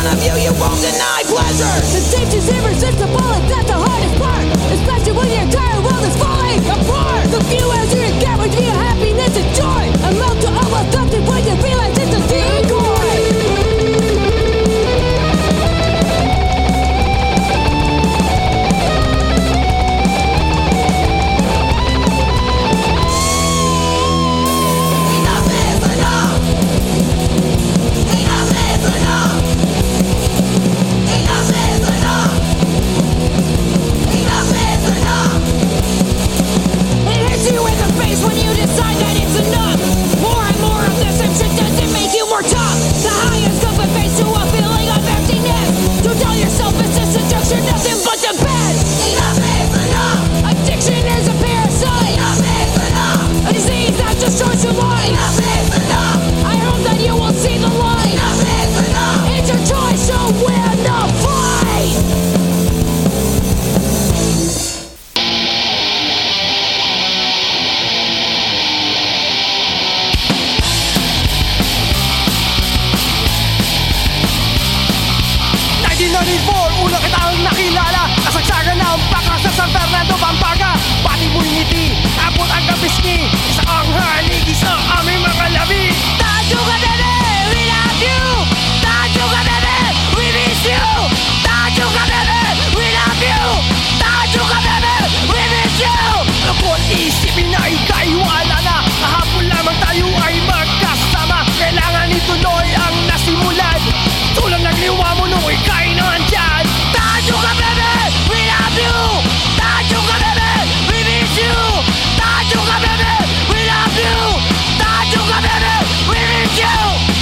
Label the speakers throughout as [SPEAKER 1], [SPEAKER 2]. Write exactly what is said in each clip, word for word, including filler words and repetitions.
[SPEAKER 1] love you, you won't deny pleasure.
[SPEAKER 2] The tension's irresistible and that's the hardest part, especially when your entire world is falling apart. The few hours you guarantee your happiness and joy amount to almost nothing when you realize it's a decoy. When you decide that it's enough, more and more of this and shit doesn't make you more tough. The highest of a face to a feeling of emptiness. To tell yourself it's just addiction, nothing but the best. Enough is enough. Addiction is a parasite. Enough is enough. A disease that destroys your life. Enough is enough. I hope that you will see the light. Enough is enough. It's your choice, so win the fight.
[SPEAKER 3] nineteen ninety-four, una kitang nakilala. Kasagsagan ng baka sa San Fernando, Pampanga. Pati mo'y ngiti, abot ang kabisni. Isa ang haligi sa aming mga labi.
[SPEAKER 2] Tajuga bebe, we love you. Tajuga bebe, we miss you. Tajuga bebe, we love you. Tajuga bebe, we miss you.
[SPEAKER 3] Kung isipin na ika'y wala na, kahapon lamang tayo ay magkasama. Kailangan ituloy ang nasimulan. Tulang nagliwa mo nung ika'y nandyan.
[SPEAKER 2] Tajuga bebe, we love you. Tajuga bebe, we miss you. Tajuga bebe, we love you. Tajuga bebe, we miss you.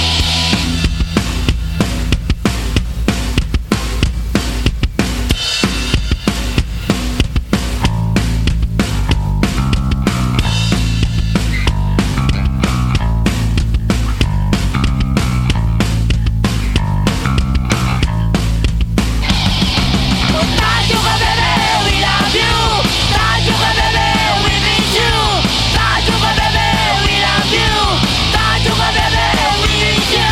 [SPEAKER 2] Tajuga bebe, we love you. Tajuga bebe, we miss you. Tajuga bebe, we love you. Tajuga bebe, we miss you.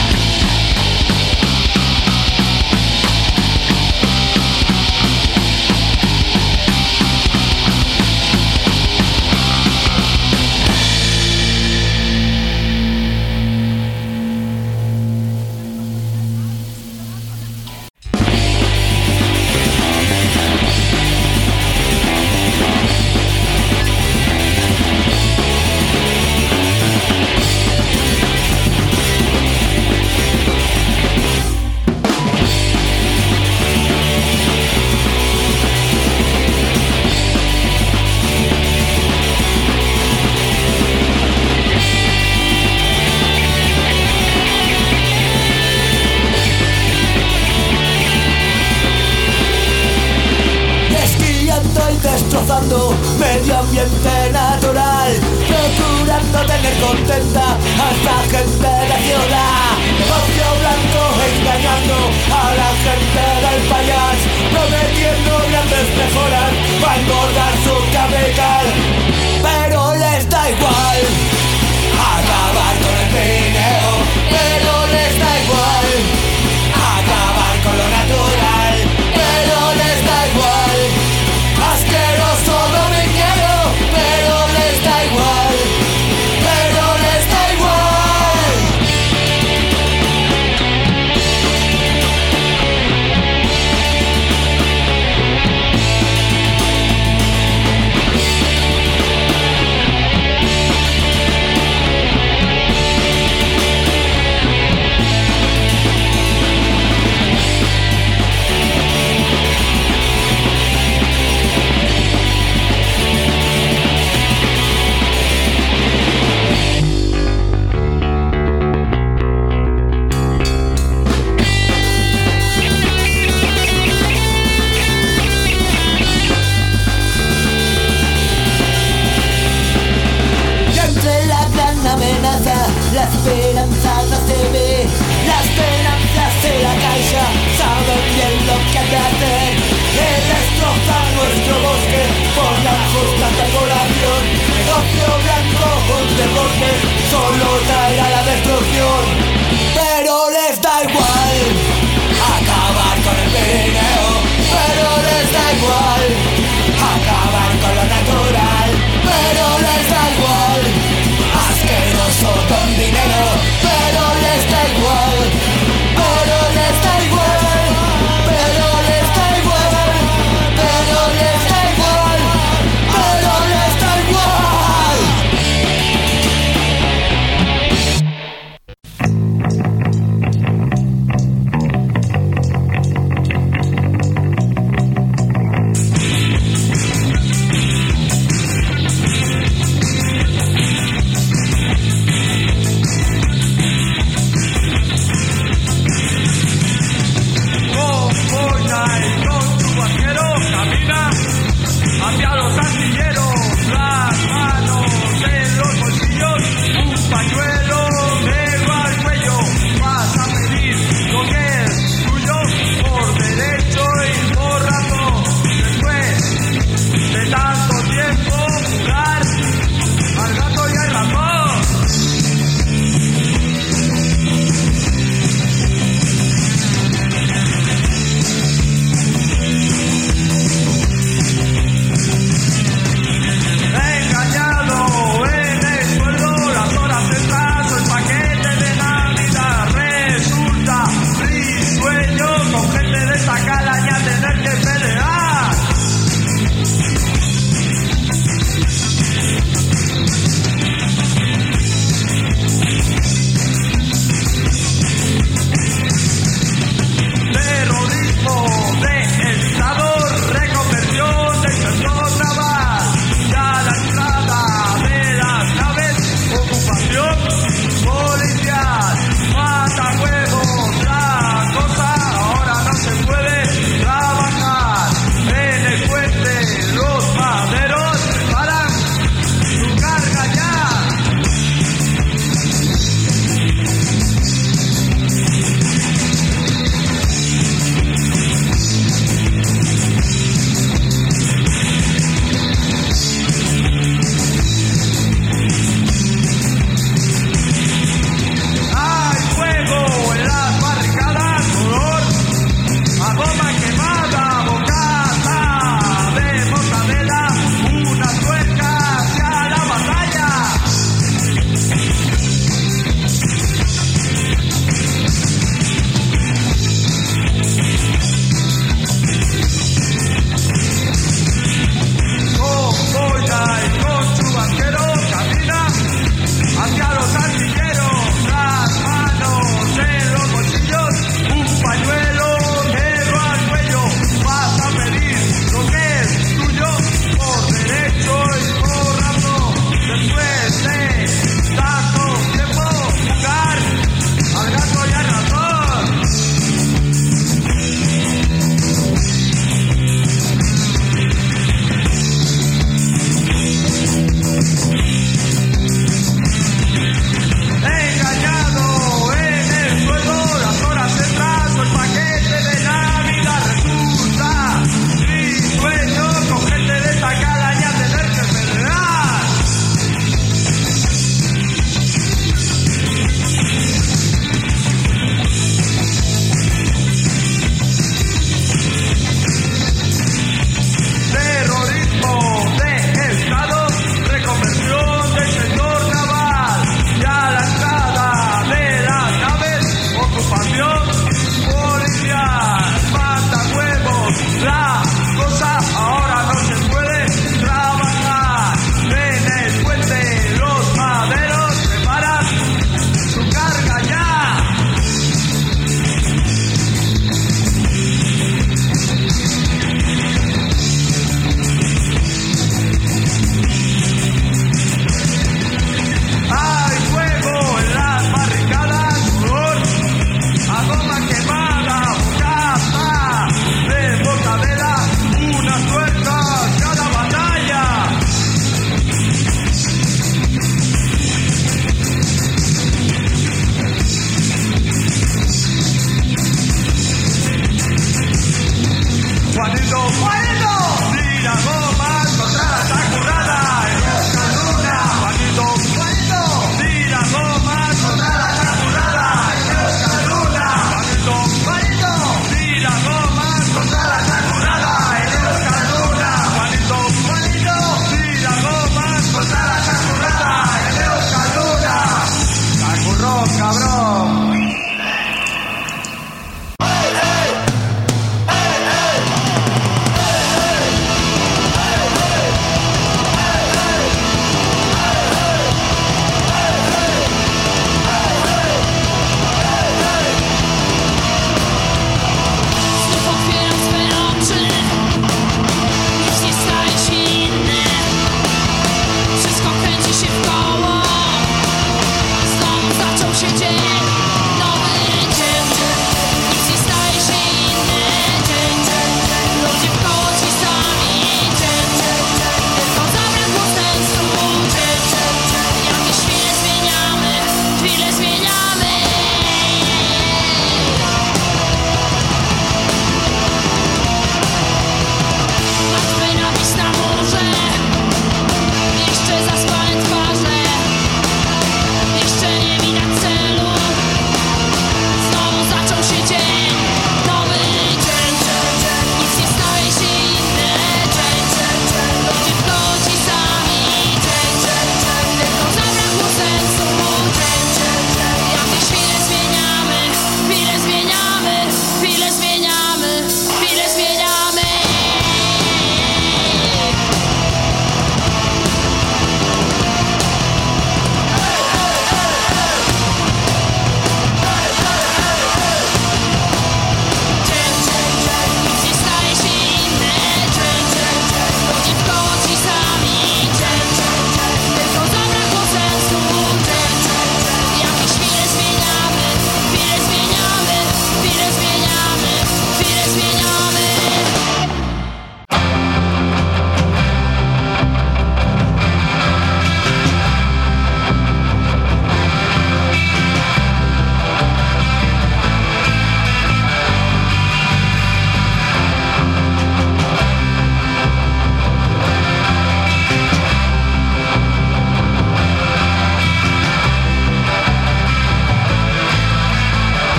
[SPEAKER 4] Desquiando y destrozando medio ambiente natural, procurando tener contenta a esta gente de ciudad. Negocio blanco engañando a la gente del payas, prometiendo grandes mejoras para engordar su capital. Pero les da igual acabar con el pineo, pero les da igual acabar con lo natural, pero les da igual. Asqueroso dominguero, pero les da igual, pero les da igual. La esperanza no se ve, la esperanza se la caixa, saben bien lo que han de hacer, el destrozar nuestro bosque por la justa especulación. Negocio blanco, un deporte, solo traerá la destrucción, pero les da igual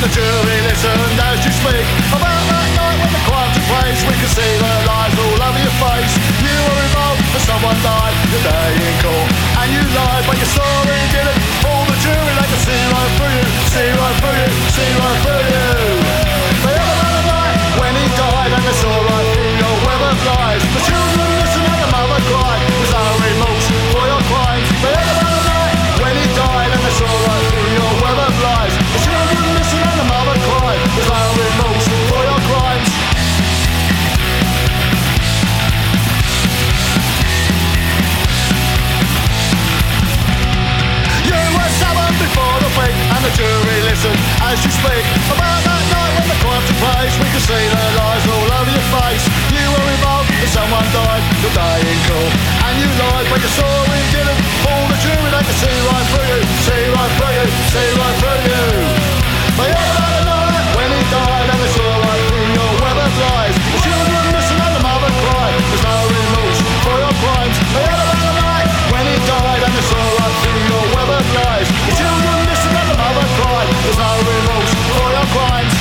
[SPEAKER 5] and the jury listened as you speak. About that night when the choir took place, we could see the lies all over your face. You were involved and someone died, your day in court, and you lied, but your story didn't. All the jury like to see right through you, see right through you, see right through you. They all had a night when he died, and they saw right through your web of lies. The children listened and the mother cried, there's no remorse for your crimes. They all had a night when he died, and they saw right through your web of lies. The children listened and the mother cried, there's no remorse for your crimes. Before the fate and the jury listen as you speak. About that night when the crime took place, we could see the lies all over your face. You were involved and someone died, your day in court, and you lied, but your story didn't. All the jury they could see right through you, see right through you, see right through you. They all had a night when he died, and they saw right through your web of lies. The children listened and the mother cried, there's no remorse for your crimes. They all had a night when he died, and they saw right through your web of lies. The children listened and the mother cried, there's no remorse for your crimes.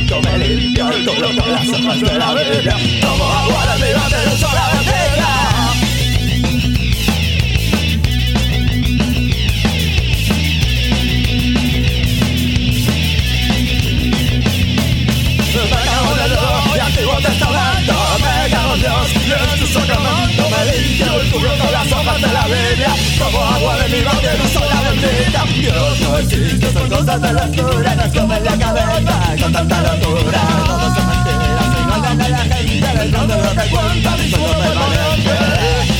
[SPEAKER 4] tomando me limpio el culo con las hojas de la Biblia. Tomo agua de mi bote de un sola botella. Me cago en el rojo y Antiguo Testamento. Me cago en Dios y en su sacramento. Me limpio el culo con las hojas de la Biblia. Tomo agua de mi bote de un sola bendita. Dios no existe, son cosas de la oscura. Nos comen la cabeza con tanta locura. Todos son mentiras, se engañan a la gente. El nombre no te cuenta, mi sueño permanente.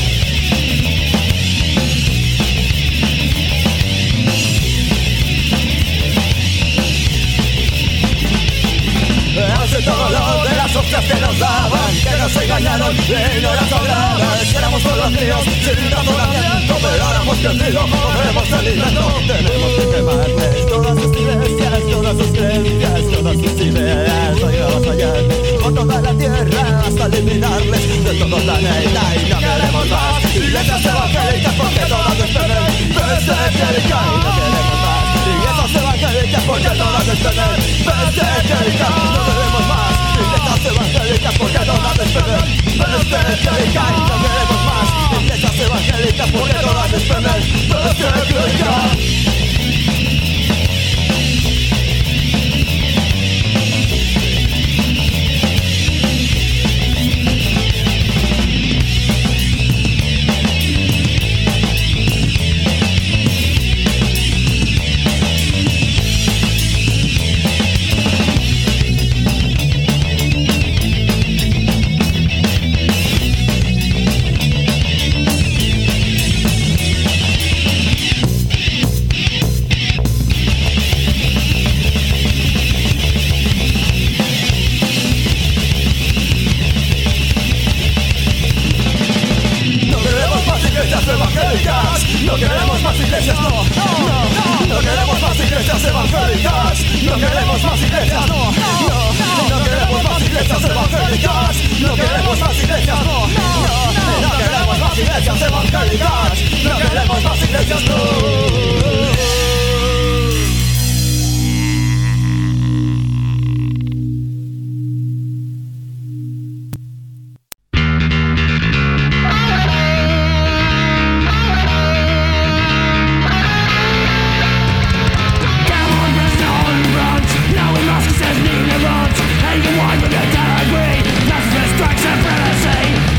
[SPEAKER 4] Hace todo lo de las hostias que nos daban, que nos engañaron y no las sobraban. Éramos todos míos sin razonamiento, pero ahora hemos crecido, comemos alimento. Tenemos que quemarles todas sus iglesias, todas sus creencias, todas sus ideas. Hoy vamos a hallarme por toda la tierra hasta eliminarles de todo el planeta. Y no queremos más iglesias evangélicas porque todas esperan peste angélica. Y no queremos más iglesias evangélicas porque todas esperan peste angélica. No queremos más iglesias evangélicas porque todas esperan peste angélica. Y no queremos más iglesias evangélicas porque todas esperan peste angélica. No queremos más iglesias, no, no, no, no queremos más iglesias evangélicas. No queremos más iglesias, no, no, no queremos más iglesias evangélicas. No queremos más iglesias, no, no, no queremos más iglesias evangélicas. No queremos más iglesias, no.
[SPEAKER 2] Wide with the disagree, that's the strikes of fantasy.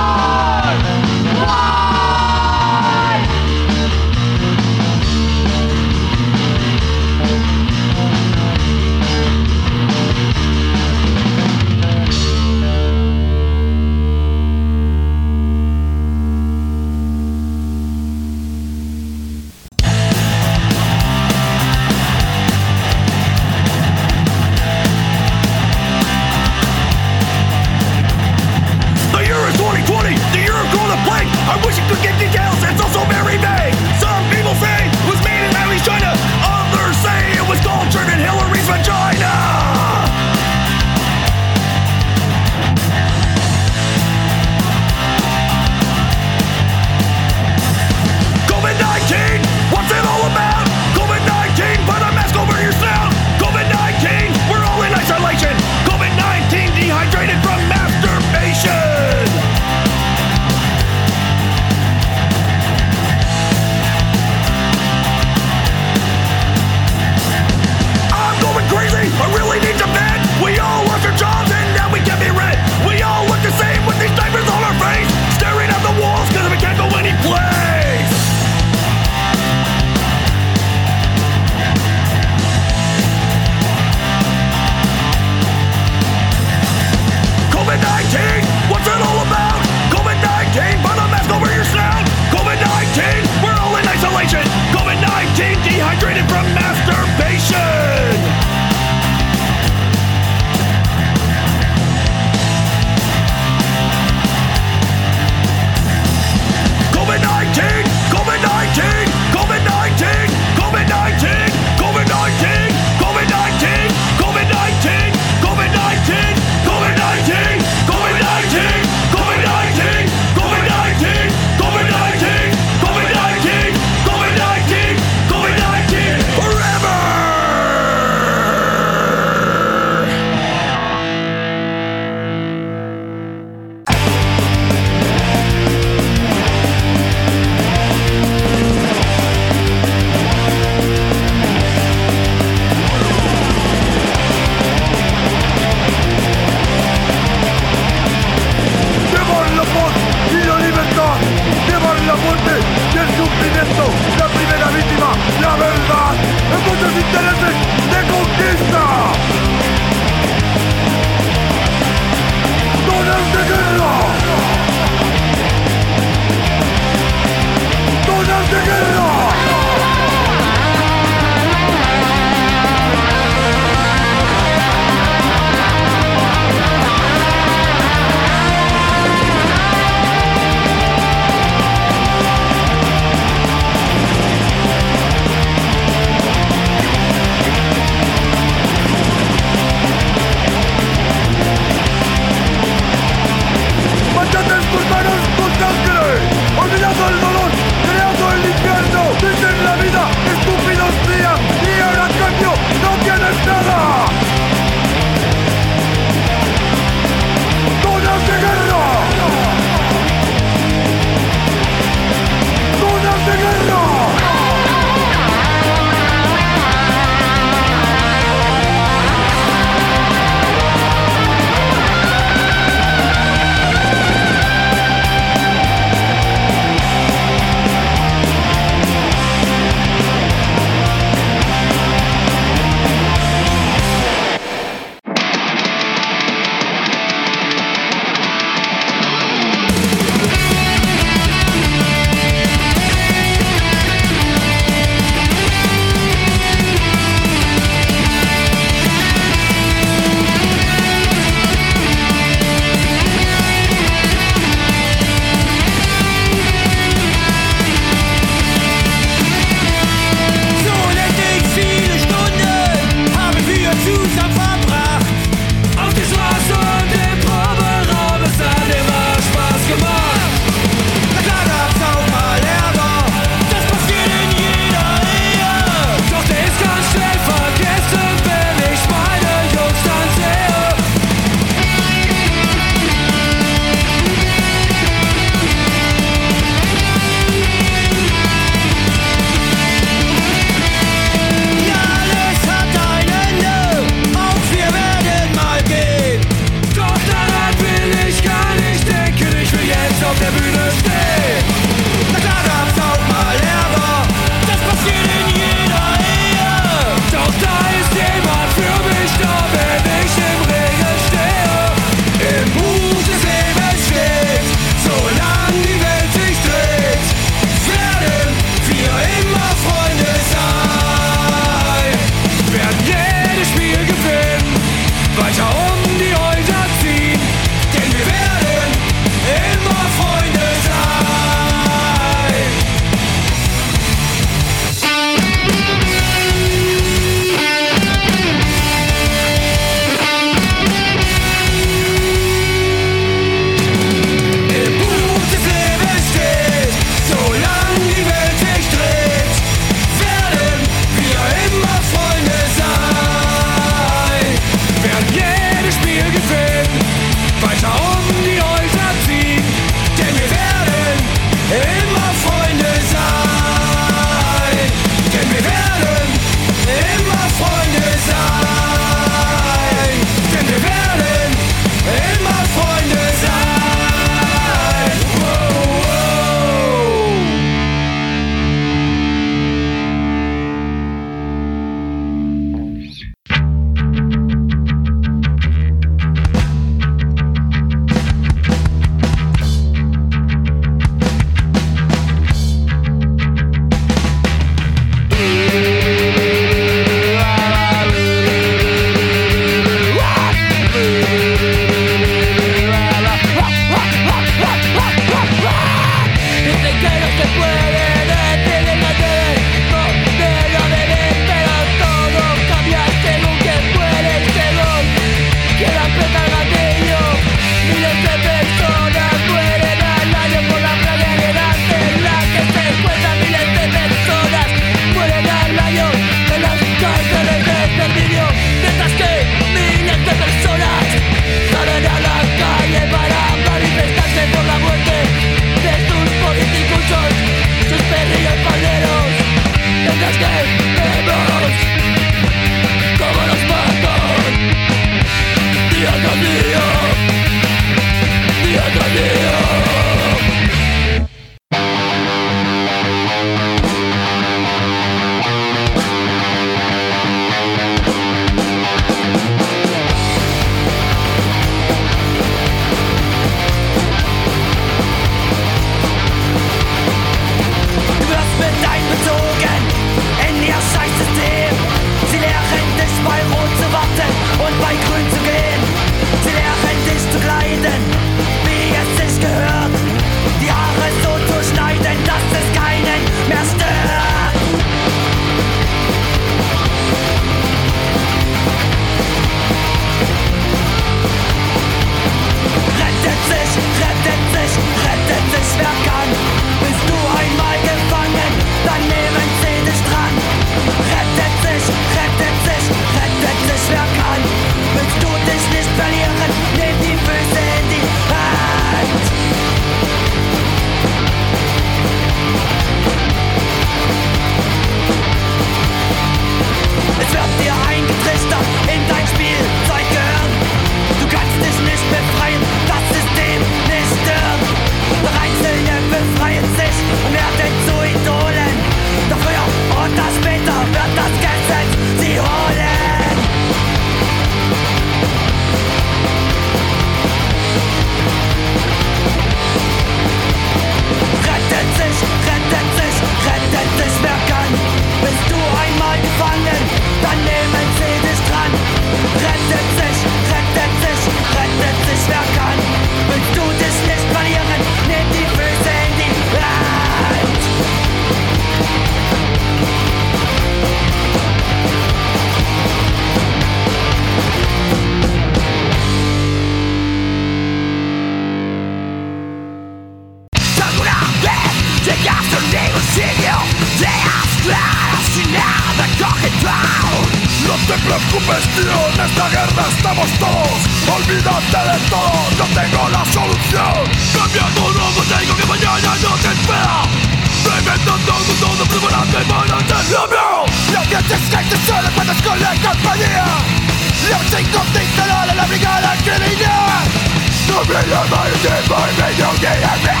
[SPEAKER 3] parte de todo, no tengo la solución. Cambiando rumbo, tengo que mañana no te espera. Reinventando un mundo preparando y manos lo mío. Los dientes que te salen cuando con la compañía. Los incondicionales, la brigada criminal. No me llaman de por medio de la vida.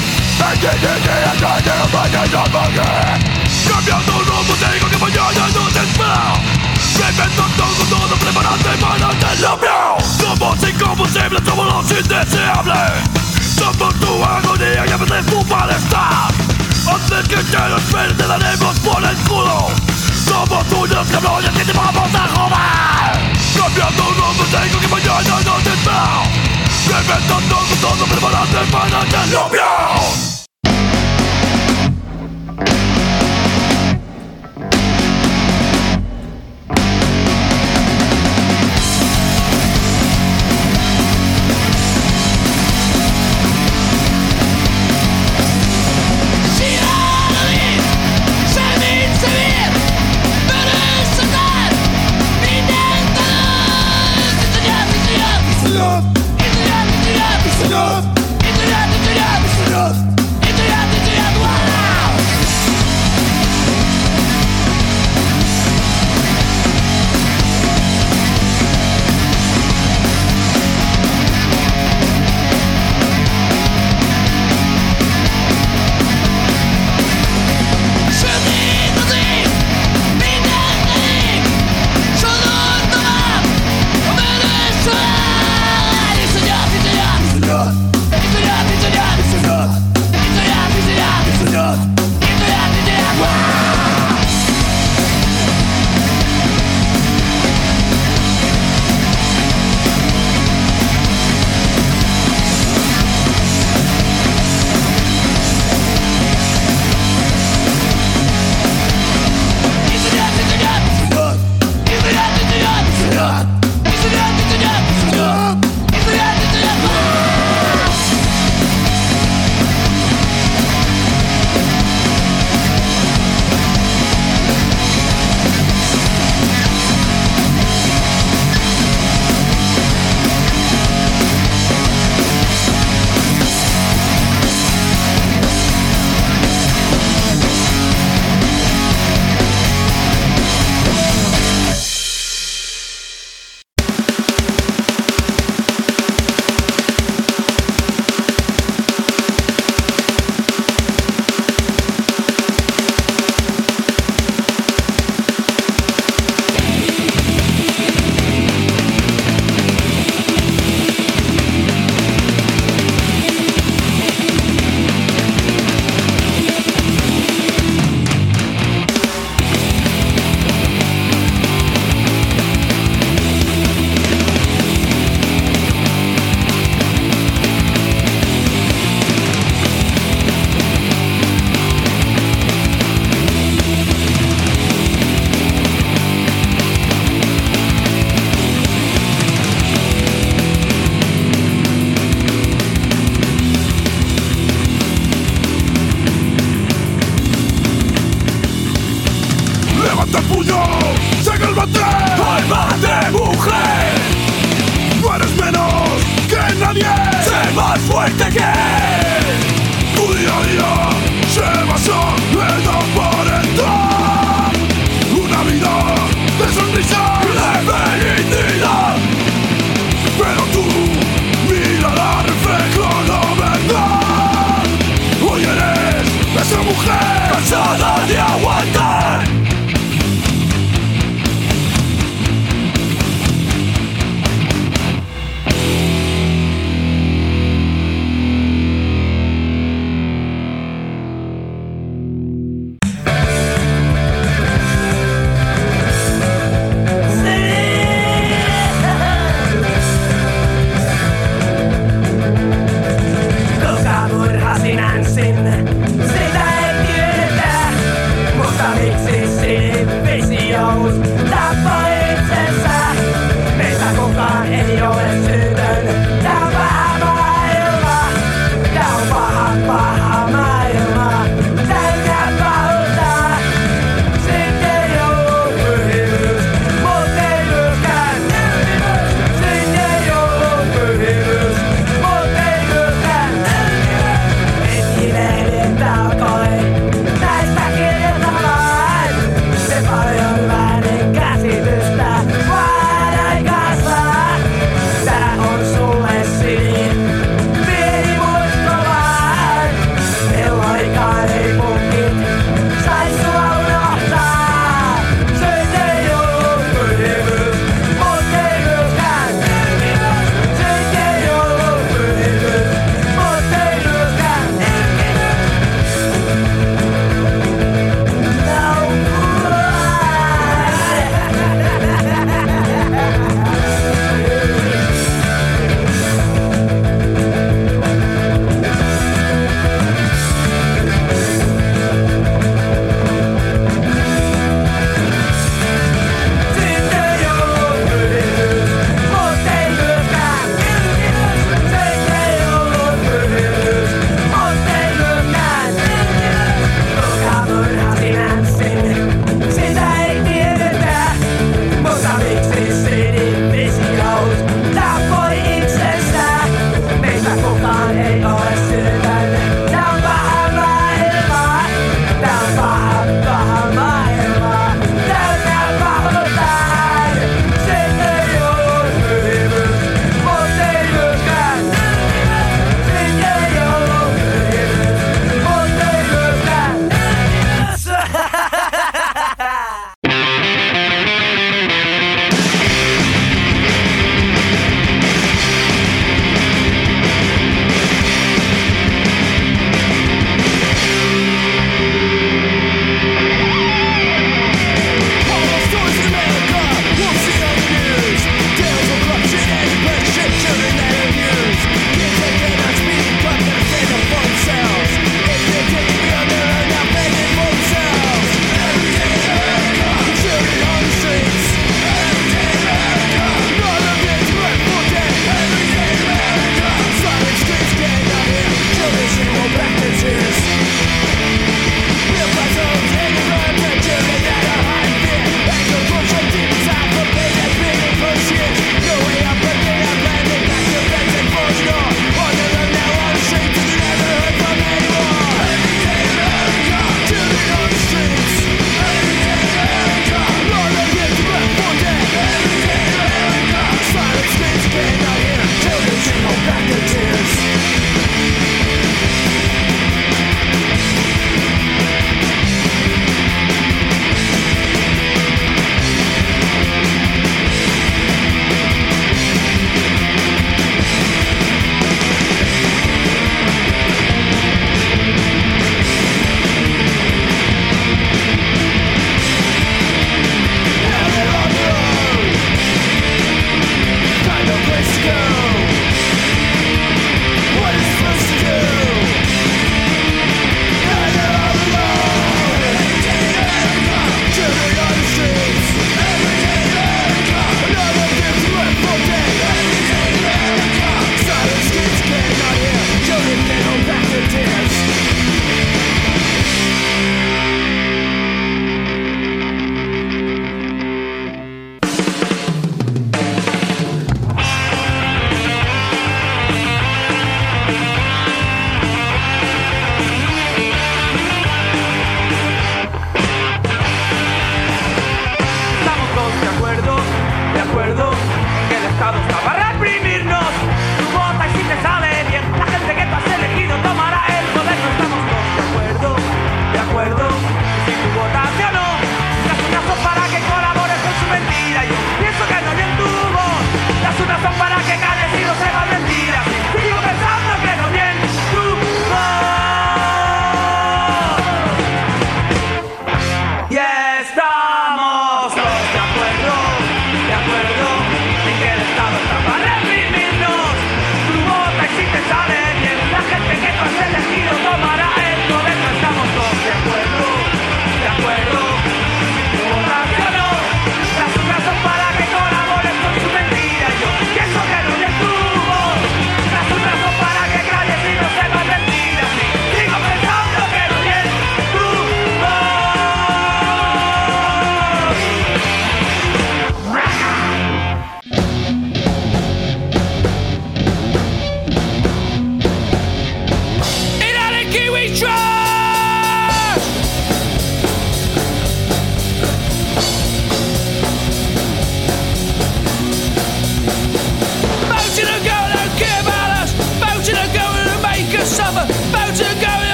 [SPEAKER 3] Cambiando rumbo, tengo que mañana no te espera. Reinventando un mundo preparando y manos lo mío. Somos incombustibles, somos los indeseables. Somos tu agonía y a veces tu malestar. Antes que te lo esperes te daremos por el culo. Somos tuyos cabrones que te vamos a joder. Cambiando un rumbo tengo que mañana no te espero. Reinventando con todo preparando el manos del novio.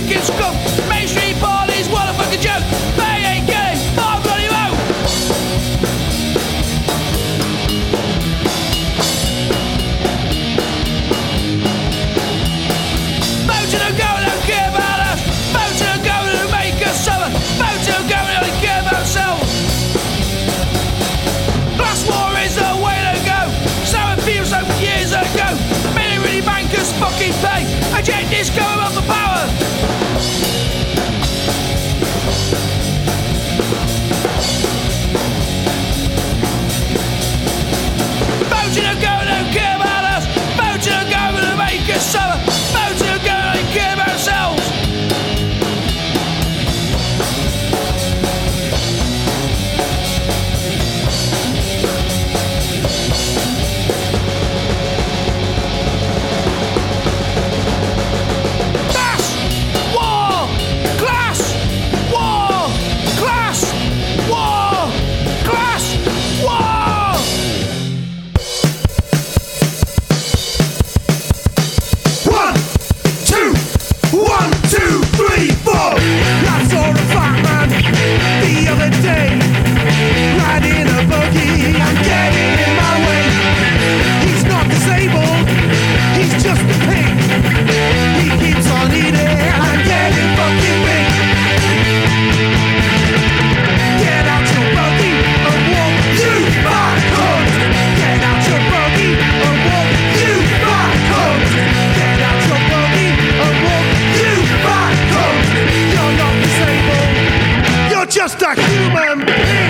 [SPEAKER 6] stinking scum. Mainstream parties, what a fucking joke. They ain't getting my bloody vote. Vote to the government, don't care about us. Vote to the government who make us suffer. Vote to the government who don't care about themselves. Class war is the way to go. So it feels like years ago. Military bankers fucking pay. Eject this government for power. Vote to the government who don't care about us. Vote to the government who make us suffer. Vote to the government who don't care about themselves.
[SPEAKER 7] Just a human being.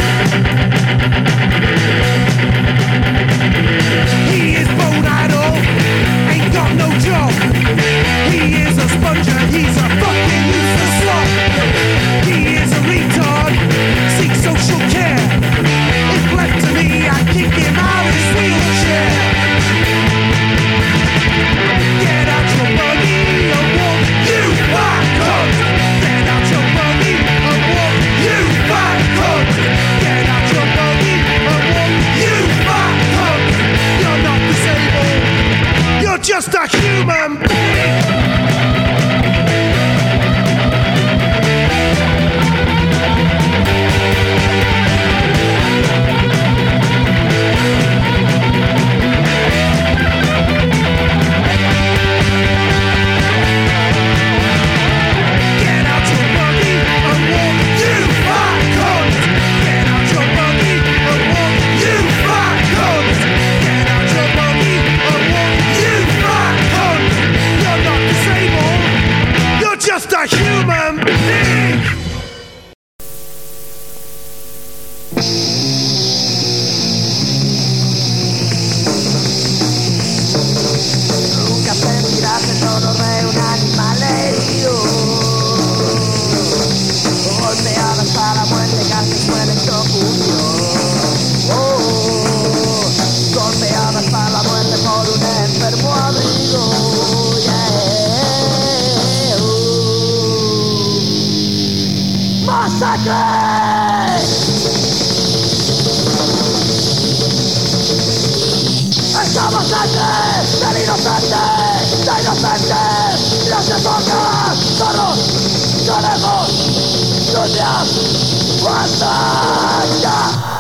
[SPEAKER 7] He is bone idle, ain't got no job. He is a sponger, he's a fucking useless slot. He is a retard, seeks social care. If left to me, I'd kick him out his wheelchair. Get out your buggy and walk, you white cunt. Get out your buggy and walk, you white cunt. Get out your buggy and walk, you white cunt. You're not disabled, you're just a human being. Just a human being.
[SPEAKER 4] Nunca sentirás el dolor de un animal herido, golpeado hasta la muerte, casi muere hecho puño. Oh, golpeado hasta la muerte por un enfermo abrigo. Yeah. ¡Masacre! ¡Esta masacre del inocente, de inocentes! ¡Las épocas! ¡Todos queremos! ¡Sucias! ¡Muertas!